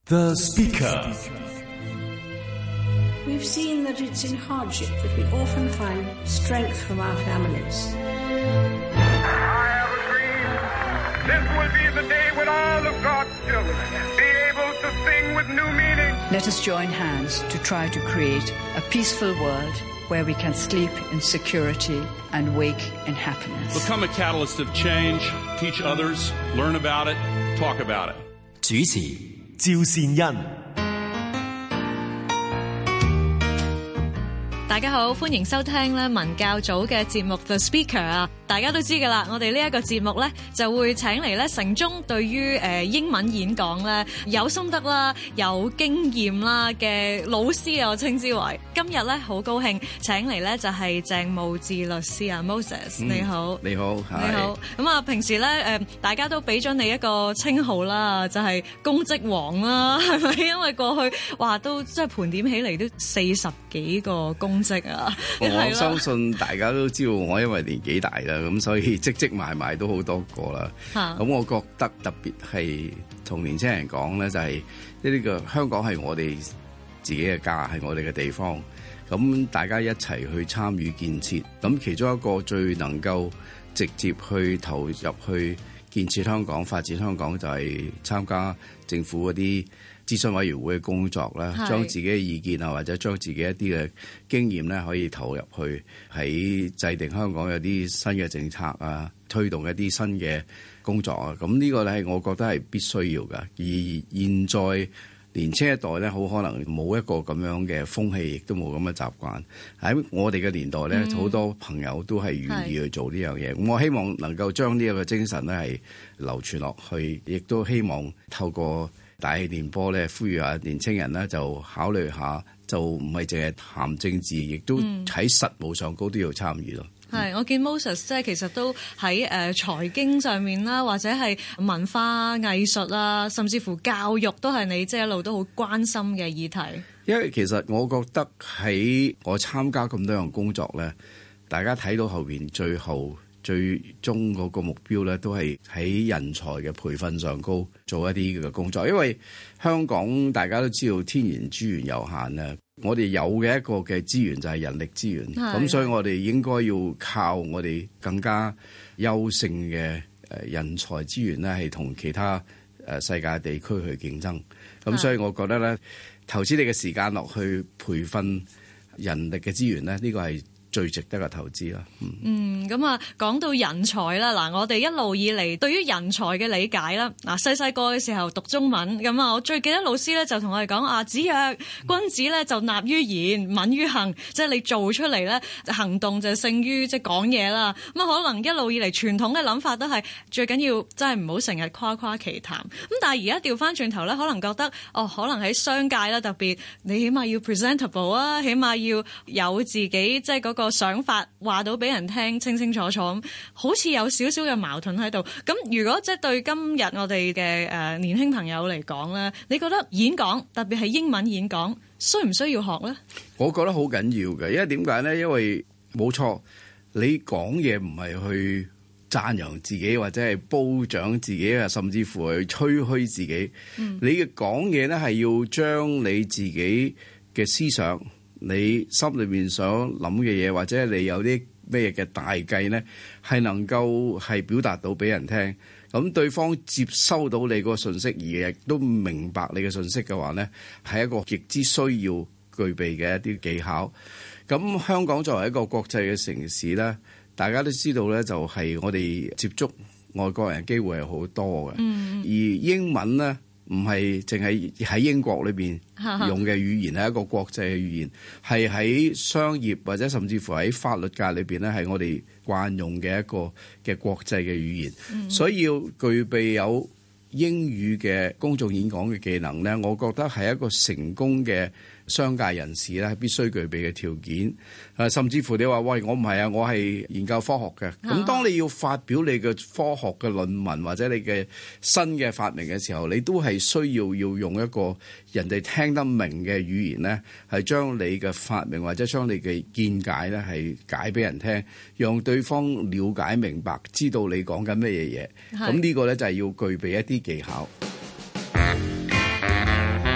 The Speaker. We've seen that it's in hardship that we often find strength from our families. I have a dream. This will be the day when all of God's children be able to sing with new meaning. Let us join hands to try to create a peaceful world where we can sleep in security and wake in happiness. Become a catalyst of change, teach others, learn about it, talk about it. 主持趙善恩。 大家好，歡迎收聽咧文教組嘅節目 The Speaker 啊！大家都知㗎啦，我哋呢一個節目咧就會請嚟咧城中對於英文演講咧有心得啦、有經驗啦嘅老師啊，我稱之為。今日咧好高興請嚟咧就係鄭慕智律師啊 ，Moses 你好， 你好， 你好。咁啊，平時咧大家都俾咗你一個稱號啦，就係公職王啦，係咪？因為過去話都即係盤點起嚟都40幾個公職啊！ 我相信大家都知道我因為年紀大啦，咁所以積埋都好多個啦。咁我覺得特別係同年輕人講咧，就係呢個香港係我哋自己嘅家，係我哋嘅地方。咁大家一齊去參與建設，咁其中一個最能夠直接去投入去建設香港、發展香港，就係參加政府嗰啲諮詢委員會嘅工作啦，將自己嘅意見啊，或者將自己一啲嘅經驗咧，可以投入去喺制定香港有啲新嘅政策啊，推動一啲新嘅工作啊。咁呢個咧，我覺得係必須要㗎。而現在年輕一代咧，好可能冇一個咁樣嘅風氣，亦都冇咁嘅習慣。喺我哋嘅年代咧，好多朋友都係願意去做呢樣嘢。咁我希望能夠將呢一個精神咧係流傳落去，亦都希望透過大氣電波咧，呼籲下年青人咧就考慮下，就唔係淨係談政治，亦都喺實務上高都要參與咯。 係，我見 Moses 即係其實都喺財經上面啦，或者係文化藝術啊，甚至乎教育都係你即係一路都好關心嘅議題。 因為其實我覺得喺我參加咁多樣工作咧，大家睇到後邊最終嗰個目標咧，都係喺人才嘅培訓上高做一啲嘅工作。因為香港大家都知道天然資源有限啊，我哋有嘅一個嘅資源就係人力資源，咁所以我哋應該要靠我哋更加優勝嘅人才資源咧，係同其他世界地區去競爭。咁所以我覺得咧，投資你嘅時間落去培訓人力嘅資源咧，呢個係最值得嘅投資啦。 咁啊，講到人才啦，嗱，我哋一路以嚟對於人才嘅理解啦，嗱，細個嘅時候讀中文，咁啊，我最記得老師咧就同我哋講啊，子曰君子咧就立於言，敏於行，即係你做出嚟咧，行動就勝於即係講嘢啦。咁啊，可能一路以嚟傳統嘅諗法都係最緊要真係唔好成日誇誇其談。咁但係而家調翻轉頭咧，可能覺得可能喺商界啦，特別你起碼要 presentable 啊，起碼要有自己即係嗰個想法話到俾人聽清清楚楚，咁好似有少少嘅矛盾喺度。咁如果即係對今日我哋嘅年輕朋友嚟講咧，你覺得演講特別係英文演講需唔需要學咧？ 我覺得好緊要嘅，因為點解咧？因為冇錯，你講嘢唔係去讚揚自己或者係褒獎自己啊，甚至乎去吹噓自己。你嘅講嘢咧係要將你自己嘅思想，你心裏面想諗嘅嘢，或者你有啲咩嘅大計咧，係能夠係表達到俾人聽。咁對方接收到你個信息，而亦都明白你嘅信息嘅話咧，係一個極之需要具備嘅一啲技巧。咁香港作為一個國際嘅城市咧，大家都知道咧，就係我哋接觸外國人機會係好多嘅。而英文咧，唔係淨係喺英國裏邊用嘅語言，係一個國際嘅語言，係喺商業或者甚至乎喺法律界裏邊咧，係我哋慣用嘅一個嘅國際嘅語言。所以要具備有英語嘅公眾演講嘅技能咧，我覺得係一個成功嘅商界人士咧，係必須具備嘅條件。甚至乎你話喂，我唔係啊，我係研究科學嘅。咁當你要發表你嘅科學嘅論文或者你嘅新嘅發明嘅時候，你都係需要用一個人哋聽得明嘅語言咧，係將你嘅發明或者將你嘅見解咧係解俾人聽，讓對方了解明白，知道你講緊乜嘢嘢。咁呢個咧就係要具備一啲技巧。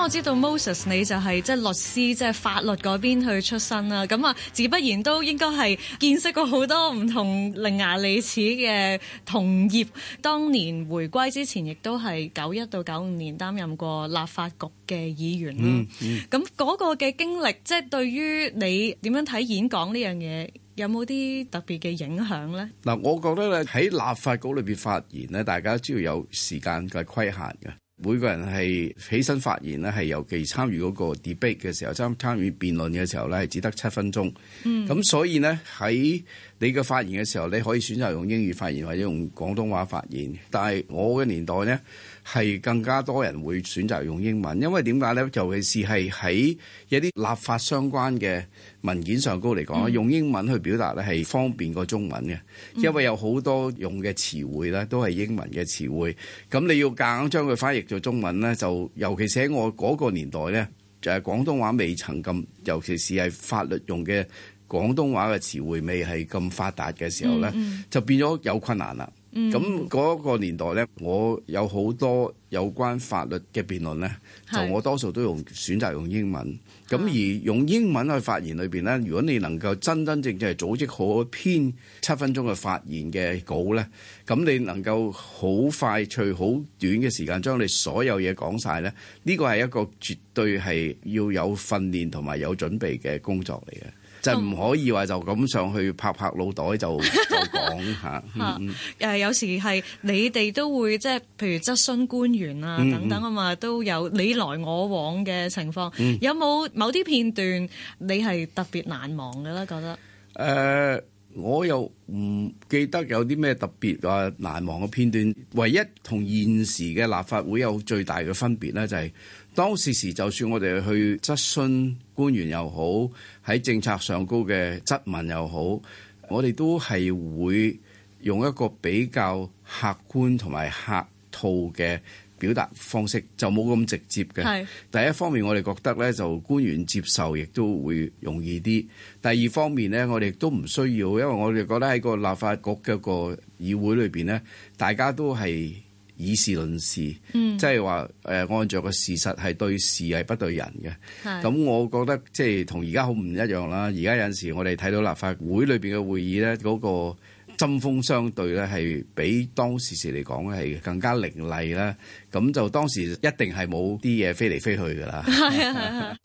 我知道 Moses 你就係即係律師，即係法律嗰邊去出身啦。咁啊，自不然都應該係見識過好多唔同伶牙俐齒嘅同業。當年回歸之前，亦都係91到95年擔任過立法局嘅議員啦。咁嗰個嘅經歷，即係對於你點樣睇演講呢樣嘢，有冇啲特別嘅影響咧？ 嗱，我覺得咧喺立法局裏邊發言咧，大家都要有時間嘅規限嘅。每個人係起身發言咧，係尤其參與嗰個 debate 嘅時候，參與辯論嘅時候咧，係只得7分鐘。咁所以咧喺你嘅發言嘅時候，你可以選擇用英語發言或者用廣東話發言。但係我嘅年代咧，係更加多人會選擇用英文，因為點解咧？尤其是係喺一啲立法相關嘅文件上高嚟講，用英文去表達咧係方便過中文嘅，因為有好多用嘅詞彙咧都係英文嘅詞彙。咁你要夾硬將佢翻譯做中文咧，就尤其是喺我嗰個年代咧，就係廣東話未曾咁，尤其是係法律用嘅廣東話嘅詞彙未係咁發達嘅時候咧，就變咗有困難啦。咁嗰個年代咧，我有好多有關法律嘅辯論咧，就我多數都選擇用英文。咁而用英文去發言裏邊咧，如果你能夠真真正正係組織好一篇7分鐘嘅發言嘅稿咧，咁你能夠好快脆、好短嘅時間將你所有嘢講晒咧，呢個係一個絕對係要有訓練同埋有準備嘅工作嚟嘅。就唔可以話就咁上去拍腦袋就講嚇。 有時係你哋都會即係譬如質詢官員啊等等啊嘛，都有你來我往嘅情況。有冇某啲片段你係特別難忘嘅咧？覺得我又唔記得有啲咩特別話難忘嘅片段。唯一同現時嘅立法會有最大嘅分別咧，就係當時就算我哋去質詢官員又好，喺政策上高嘅質問又好，我哋都係會用一個比較客觀同埋客套嘅表達方式，就冇咁直接嘅。第一方面我哋覺得咧，就官員接受亦都會容易啲。第二方面咧，我哋都唔需要，因為我哋覺得喺個立法局嘅個議會裏邊咧，大家都係以事論事，即係話按照個事實係對事係不對人嘅。咁我覺得即係同而家好唔一樣啦。而家有陣時我哋睇到立法會裏邊嘅會議咧，嗰個針鋒相對咧係比當時嚟講係更加凌厲啦。咁就當時一定係冇啲嘢飛嚟飛去㗎啦。係。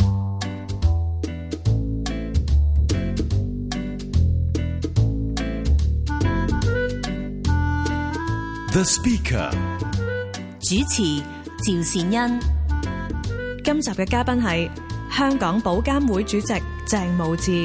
The Speaker 主持趙善恩。 今集嘅嘉賓係香港保監會主席鄭慕智。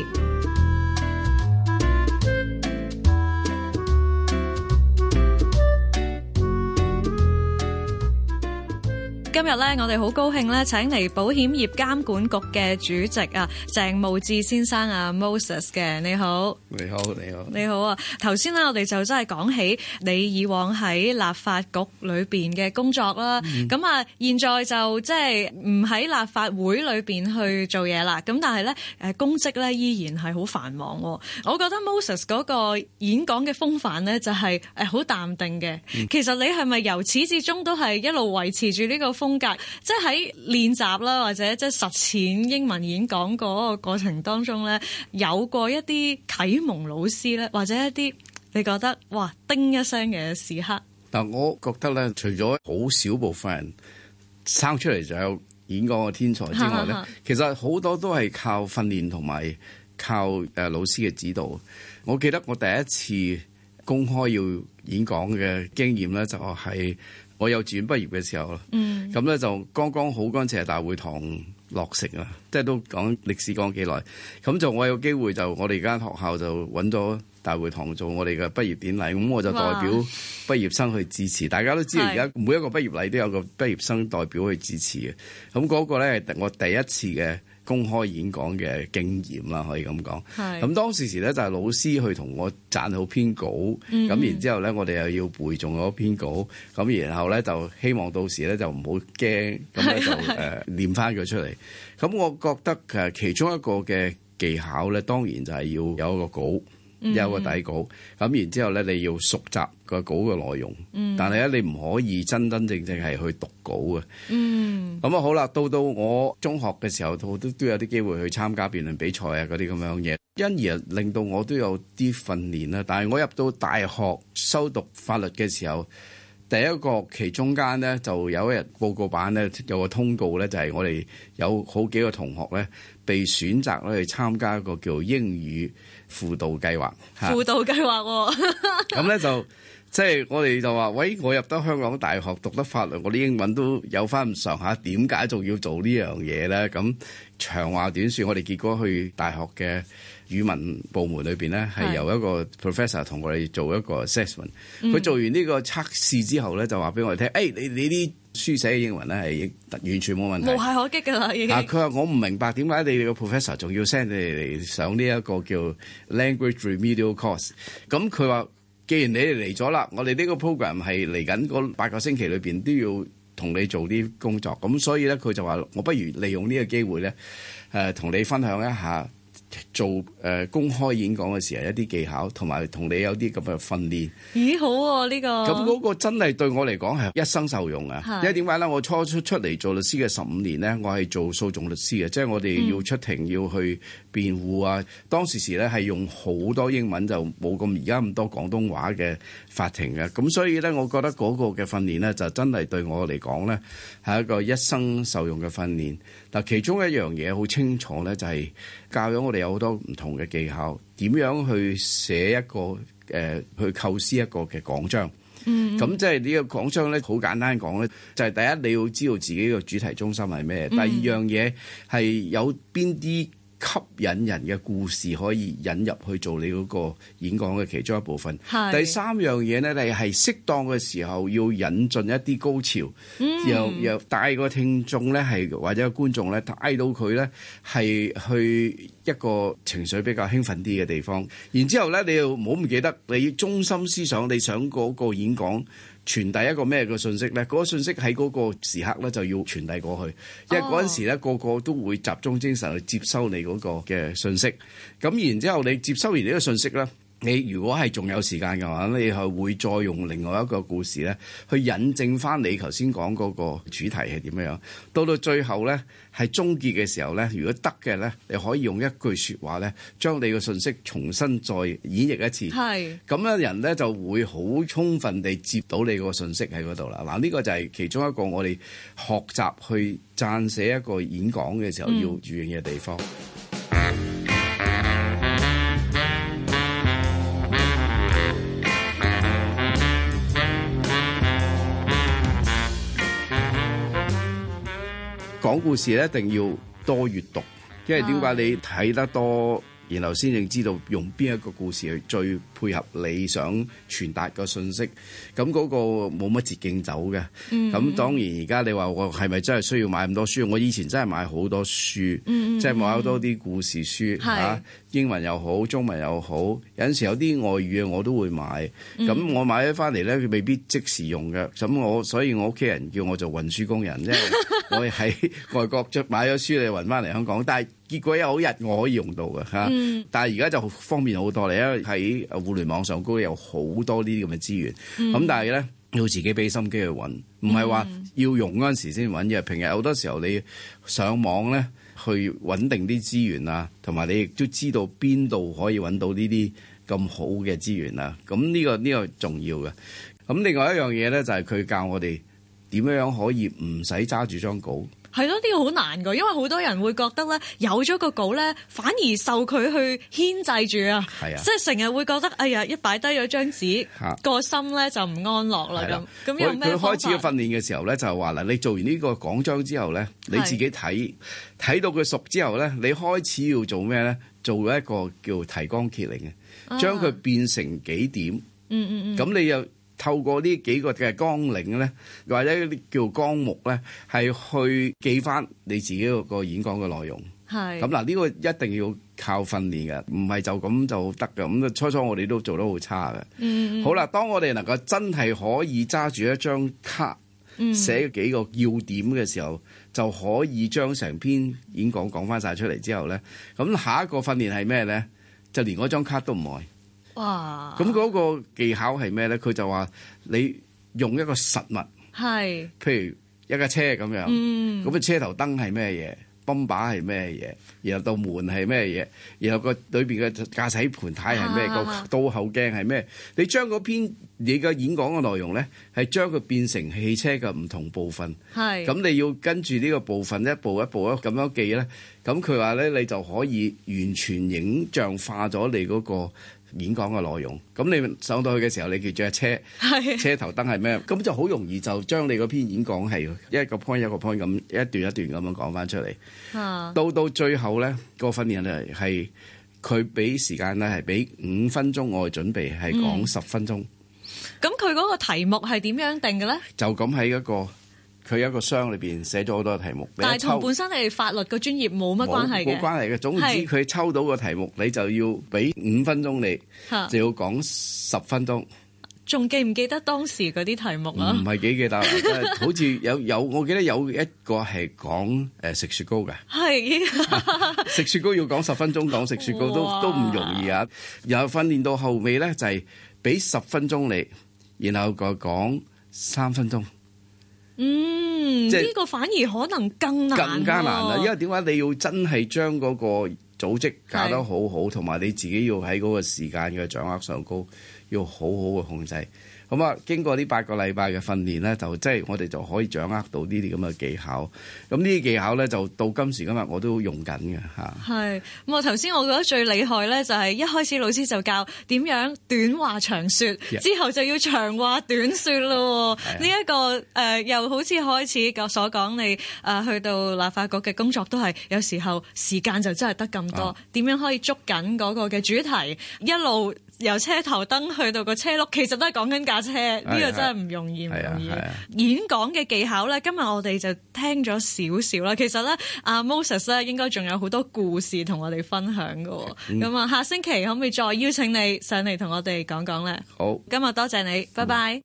今日咧，我哋好高興咧，請嚟保險業監管局嘅主席啊，鄭慕智先生啊 Moses 嘅。你好。 你好，你好， 你好啊！頭先咧，我哋就真係講起你以往喺立法局裏邊嘅工作啦。咁現在就即係唔喺立法會裏邊去做嘢啦。咁但係咧，公職咧依然係好繁忙。我覺得 Moses 嗰個演講嘅風範咧，就係好淡定嘅。其實你係咪由始至終都係一路維持住呢個風格？即係喺練習啦，或者即係實踐英文演講嗰個過程當中咧，有過一啲啟蒙老師咧，或者一啲你覺得哇叮一聲嘅時刻。 嗱，我覺得咧，除咗好少部分人生出嚟就有演講嘅天才之外咧，其實好多都係靠訓練同埋靠老師嘅指導。我記得我第一次公開要演講嘅經驗咧，就係我幼稚園畢業嘅時候啦。咁咧就剛剛好嗰陣時係大會堂落成啦，即係都講歷史講幾耐。咁就我有機會就我哋間學校就揾咗大會堂做我哋嘅畢業典禮，咁我就代表畢業生去致辭。大家都知道而家每一個畢業禮都有個畢業生代表去致辭嘅。咁嗰個咧係我第一次嘅公開演講嘅經驗啦，可以咁講。咁當時咧就係老師去同我撰好篇稿，咁然之後咧我哋又要背誦嗰篇稿，咁然後咧就希望到時咧就唔好驚，咁咧就念翻佢出嚟。咁我覺得其中一個嘅技巧咧，當然就係要有一個稿， 有個底稿，咁然之後咧你要熟習個稿嘅內容，但係咧你唔可以真真正正係去讀稿嘅。咁啊好啦，到我中學嘅時候，都有啲機會去參加辯論比賽啊嗰啲咁樣嘢，因而令到我都有啲訓練啦。但係我入到大學修讀法律嘅時候，第一個期中間咧就有一日報告版咧有個通告咧，就係我哋有好幾個同學咧被選擇咧去參加一個叫英語輔導計劃。 輔導計劃喎， 咁咧就即係我哋就話，喂，我入得香港大學讀得法律，我啲英文都有翻咁上下，點解仲要做呢樣嘢咧？咁長話短説，我哋結果去大學嘅語文部門裏邊咧，係由一個 professor 同我哋做一個 assessment。佢做完呢個測試之後咧，就話俾我哋聽，你啲書寫嘅英文咧係完全冇問題， 無懈可擊㗎啦已經。 佢話我唔明白點解你哋個 professor 仲要 send 你哋嚟上呢一個叫 language remedial course。咁佢話，既然你哋嚟咗啦，我哋呢個 program 係嚟緊嗰8個星期裏邊都要同你做啲工作。咁所以咧，佢就話我不如利用呢個機會咧，同你分享一下做公開演講嘅時候一啲技巧，同埋同你有啲咁嘅訓練。 咦，好喎呢個！ 咁嗰個真係對我嚟講係一生受用啊！因為點解咧？我初出嚟做律師嘅15年咧，我係做訴訟律師嘅，即係我哋要出庭要去辯護啊。當時咧係用好多英文，就冇咁而家咁多廣東話嘅法庭嘅。咁所以咧，我覺得嗰個嘅訓練咧，就真係對我嚟講咧係一個一生受用嘅訓練。嗱，其中一樣嘢好清楚咧，就係教咗我哋有好多唔同嘅技巧，點樣去寫一個去構思一個嘅講章。咁即係呢個講章咧，好簡單講咧，就係第一你要知道自己個主題中心係咩，第二樣嘢係有邊啲吸引人嘅故事可以引入去做你嗰個演講嘅其中一部分。第三樣嘢咧，你係適當嘅時候要引進一啲高潮，又帶個聽眾咧係或者個觀眾咧帶到佢咧係去一個情緒比較興奮啲嘅地方。然之後咧，你又唔好唔記得你中心思想，你想嗰個演講傳遞一個咩嘅信息咧？嗰個信息喺嗰個時刻咧就要傳遞過去，因為嗰陣時咧個個都會集中精神去接收你嗰個嘅信息。咁然之後你接收完呢個信息咧，你如果係仲有時間嘅話，你係會再用另外一個故事咧去引證翻你頭先講嗰個主題係點樣。到最後咧係終結嘅時候咧，如果得嘅咧，你可以用一句説話咧，將你個信息重新再演繹一次。咁樣人咧就會好充分地接到你個信息喺嗰度啦。嗱，呢個就係其中一個我哋學習去撰寫一個演講嘅時候要注意嘅地方。講故事咧一定要多閱讀，因為點解你睇得多，然後先至知道用邊一個故事去最配合你想傳達個信息。咁嗰個冇乜捷徑走嘅。咁當然而家你話我係咪真係需要買咁多書？我以前真係買好多書，即係買好多啲故事書英文又好，中文又好，有陣時有啲外語嘅我都會買。咁我買咗翻嚟咧，佢未必即時用嘅。咁所以我屋企人叫我做運輸工人，即係我喺外國買咗書你運翻嚟香港，但係結果有一日我可以用到嘅嚇。但係而家就方便好多，因為喺互聯網上高有好多呢啲咁嘅資源。咁但係咧要自己俾心機去揾，唔係話要用嗰陣時先揾，因為平日好多時候你上網咧去穩定啲資源啊，同埋你亦都知道邊度可以揾到呢啲咁好嘅資源啊。咁呢個重要嘅。咁另外一樣嘢咧就係佢教我哋點樣可以唔使揸住張稿。 係咯，呢個好難㗎，因為好多人會覺得咧，有咗個稿咧，反而受佢去牽制住啊。即係成日會覺得，哎呀，一擺低咗張紙，個心咧就唔安樂啦咁。有咩方法？佢開始嘅訓練嘅時候咧，就係話嗱，你做完呢個講章之後咧，你自己睇到佢熟之後咧，你開始要做咩咧？做一個叫提綱挈領嘅，將佢變成幾點。咁你又透過呢幾個嘅綱領咧，或者啲叫綱目咧，係去記翻你自己個演講嘅內容。咁嗱，呢個一定要靠訓練嘅，唔係就咁就得嘅。咁初我哋都做得好差嘅。好啦，當我哋能夠真係可以揸住一張卡，寫幾個要點嘅時候，就可以將成篇演講講翻晒出嚟之後咧，咁下一個訓練係咩咧？就連嗰張卡都唔愛。 哇！ 咁嗰個技巧係咩咧？佢就話你用一個實物， 係譬如一架車咁樣，咁啊車頭燈係咩嘢？泵把係咩嘢？然後道門係咩嘢？然後個裏邊嘅駕駛盤呔係咩？個倒後鏡係咩？你將嗰篇你嘅演講嘅內容咧，係將佢變成汽車嘅唔同部分。 係咁你要跟住呢個部分一步一步咁樣記咧。咁佢話咧，你就可以完全影像化咗你嗰個演講嘅內容。咁你上到去嘅時候，你記住架車，車頭燈係咩？咁就好容易就將你嗰篇演講係一個 point 一個 point 咁一段一段咁樣講翻出嚟。到最後咧，個訓練咧係佢俾時間咧係俾5分鐘我去準備，係講10分鐘。 咁佢嗰個題目係點樣定嘅咧？就咁喺佢一個箱裏邊寫咗好多題目， 但係同本身你法律個專業冇乜關係嘅。冇關係嘅。總之佢抽到個題目，你就要俾5分鐘你，就要講10分鐘。 仲記唔記得當時嗰啲題目啊？ 唔係幾記得，好似有，我記得有一個係講食雪糕嘅。係食雪糕要講10分鐘，講食雪糕都唔容易啊！然後訓練到後尾咧，就係俾10分鐘你，然後佢講3分鐘。 呢個反而可能更加難啦， 因為點解你要真係將嗰個組織搞得好好，同埋你自己要喺嗰個時間嘅掌握上高，要好好嘅控制。咁啊，經過呢8個禮拜嘅訓練咧，就即係我哋就可以掌握到呢啲咁嘅技巧。咁呢啲技巧咧，就到今時今日我都用緊嘅嚇。係咁啊！頭先我覺得最厲害咧，就係一開始老師就教點樣短話長説，之後就要長話短説咯。呢一個又好似開始所講，你去到立法局嘅工作都係有時候時間就真係得咁多，點樣可以捉緊嗰個嘅主題，一路由車頭燈去到個車轆，其實都係講緊架車，呢個真係唔容易，唔容易。演講嘅技巧咧，今日我哋就聽咗少少啦。其實咧，阿 Moses 咧應該仲有好多故事同我哋分享㗎。咁啊，下星期可唔可以再邀請你上嚟同我哋講講咧？好，今日多謝你，拜拜。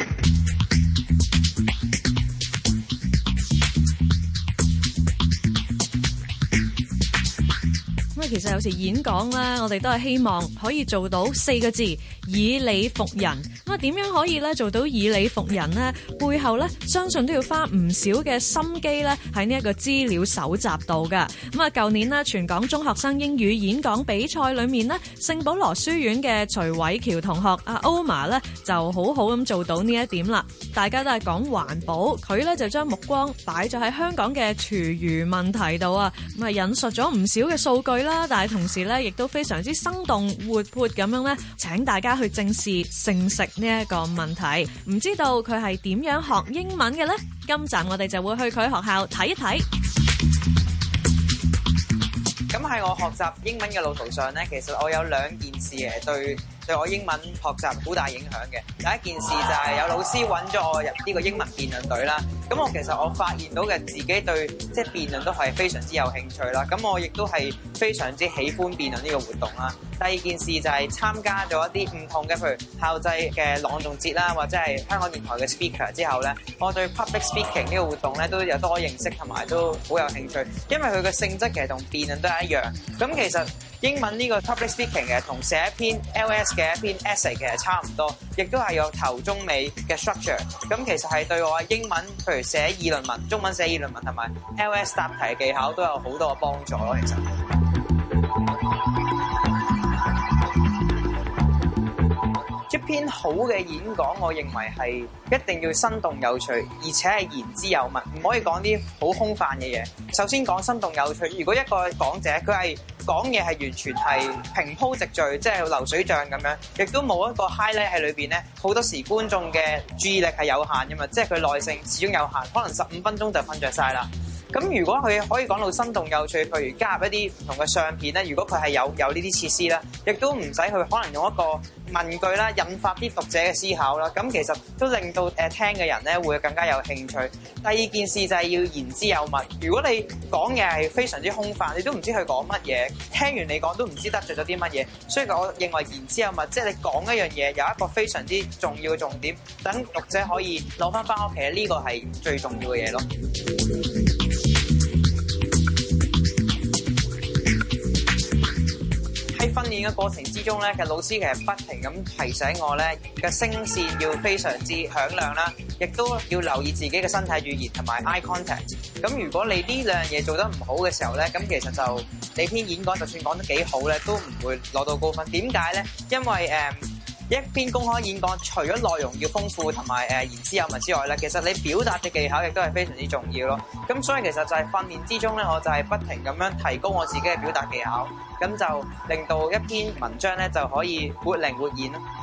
其實有時演講咧，我哋都係希望可以做到4個字：以理服人。咁啊，點樣可以咧做到以理服人呢？背後咧，相信都要花唔少嘅心機咧喺呢一個資料搜集度㗎。咁啊，舊年呢，全港中學生英語演講比賽裏面呢，聖保羅書院嘅徐偉喬同學阿 Oma 咧就好好咁做到呢一點啦。大家都係講環保，佢咧就將目光擺咗喺香港嘅廚餘問題度啊。咁啊，引述咗唔少嘅數據啦。但係同時咧，亦都非常之生動活潑咁樣咧，請大家去正視剩食呢一個問題。唔知道佢係點樣學英文嘅呢？今集我哋就會去佢學校睇一睇。 咁喺我學習英文嘅路途上咧，其實我有2件事對我英文學習好大影響嘅。第一件事就係有老師揾咗我入呢個英文辯論隊啦。咁其實我發現到嘅自己對即係辯論都係非常之有興趣啦。咁我亦都係非常之喜歡辯論呢個活動啦。第二件事就係參加咗一啲唔同嘅，譬如校際嘅朗誦節啦，或者係香港電台嘅 speaker 之後咧，我對 public speaking 呢個活動咧都有多認識，同埋都好有興趣。因為佢嘅性質其實同辯論都係一樣。咁其實英文呢個 public speaking 嘅同寫一篇 LS 嘅一篇 essay 其實差唔多，亦都係有頭中尾嘅 structure。咁其實係對我英文，譬如寫議論文、中文寫議論文同埋 LS 答題嘅技巧都有好多嘅幫助咯。其實一篇好嘅演講，我認為係一定要生動有趣，而且係言之有物，唔可以講啲好空泛嘅嘢。首先講生動有趣，如果一個講者佢係講嘢係完全係平鋪直敘，即係流水帳咁樣，亦都冇一個 highlight 喺裏邊咧。好多時觀眾嘅注意力係有限嘅嘛，即係佢耐性始終有限，可能15分鐘就瞓着晒啦。咁如果佢可以講到生動有趣，譬如加入一啲唔同嘅相片咧，如果佢係有呢啲設施啦，亦都唔使去可能用一個問句啦，引發啲讀者嘅思考啦。咁其實都令到聽嘅人咧會更加有興趣。第二件事就係要言之有物。如果你講嘢係非常之空泛，你都唔知佢講乜嘢，聽完你講都唔知得罪咗啲乜嘢。所以我認為言之有物，即係你講一樣嘢有一個非常之重要嘅重點，等讀者可以攞翻屋企，呢個係最重要嘅嘢咯。喺訓訓練嘅過程之中咧，其實老師其實不停咁提醒我咧嘅聲線要非常之響亮啦，亦都要留意自己嘅身體語言同埋 eye contact。咁如果你呢兩樣嘢做得唔好嘅時候咧，咁其實就你篇演講就算講得幾好咧，都唔會攞到高分。點解咧？因為一篇公開演講，除咗內容要豐富同埋言之有物之外咧，其實你表達嘅技巧亦都係非常之重要咯。咁所以其實就係訓練之中咧，我就係不停咁樣提高我自己嘅表達技巧，咁就令到一篇文章咧就可以活靈活現咯。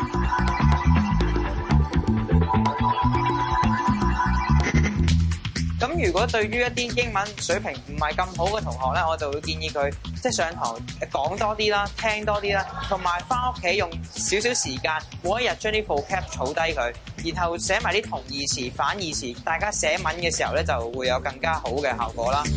咁如果對於一啲英文水平唔係咁好嘅同學咧，我就會建議佢即係上堂講多啲啦，聽多啲啦，同埋翻屋企用少少時間，每一日將啲 vocab 儲低佢，然後寫埋啲同義詞、反義詞，大家寫文嘅時候咧就會有更加好嘅效果啦。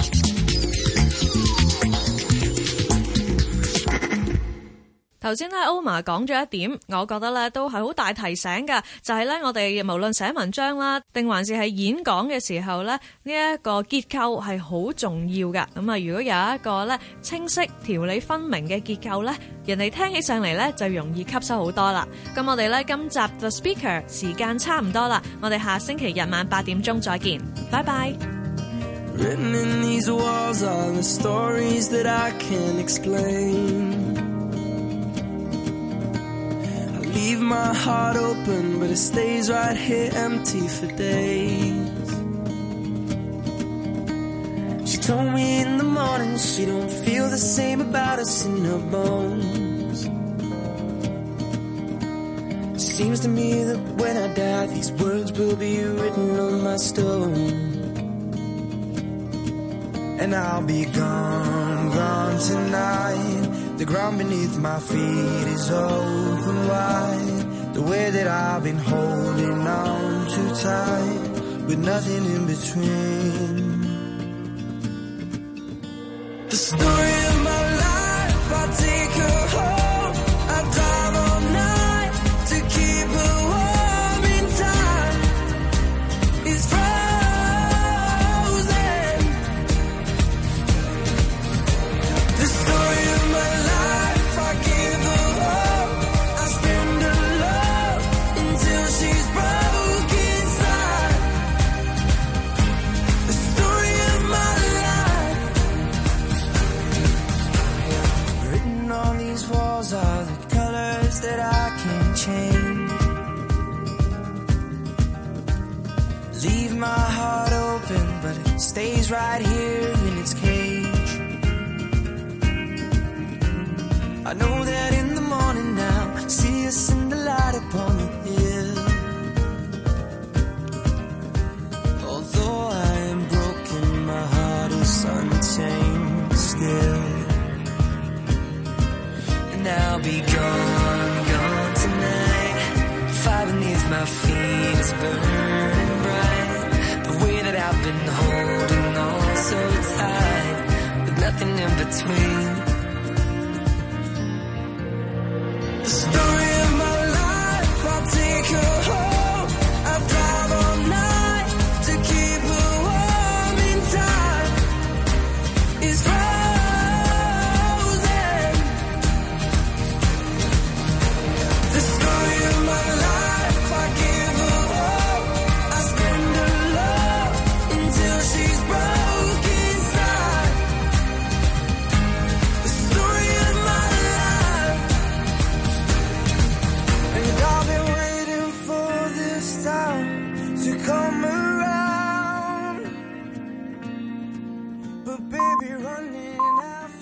頭先咧，Omar 講咗一點，我覺得咧都係好大提醒㗎，就係咧我哋無論寫文章啦，定還是係演講嘅時候咧，呢一個結構係好重要㗎。咁啊，如果有一個咧清晰、條理分明嘅結構咧，人哋聽起上嚟咧就容易吸收好多啦。咁我哋咧今集 The Speaker 時間差唔多啦，我哋下星期日晚8點鐘再見，拜拜。 Written in these walls are the stories that I can't explain. Leave my heart open, but it stays right here empty for days. She told me in the morning she don't feel the same about us in her bones. Seems to me that when I die, these words will be written on my stone. And I'll be gone, gone tonight. The ground beneath my feet is open wide. The way that I've been holding on too tight, with nothing in between. The story of my life, I take her home. I drive all night to keep her warm in time. It's frozen. The story of my life. Are the colors that I can't change. Leave my heart open, but it stays right here in its cage. I know that in the morning now, see us in the light upon the hill. Although I am broken, my heart is unchained still. And I'll be gone, gone tonight. Fire beneath my feet is burning bright. The way that I've been holding on so tight, with nothing in between. The story of my life, I'll take her home. I'll drive all night to keep her warm in time. It's come around, but baby, running out.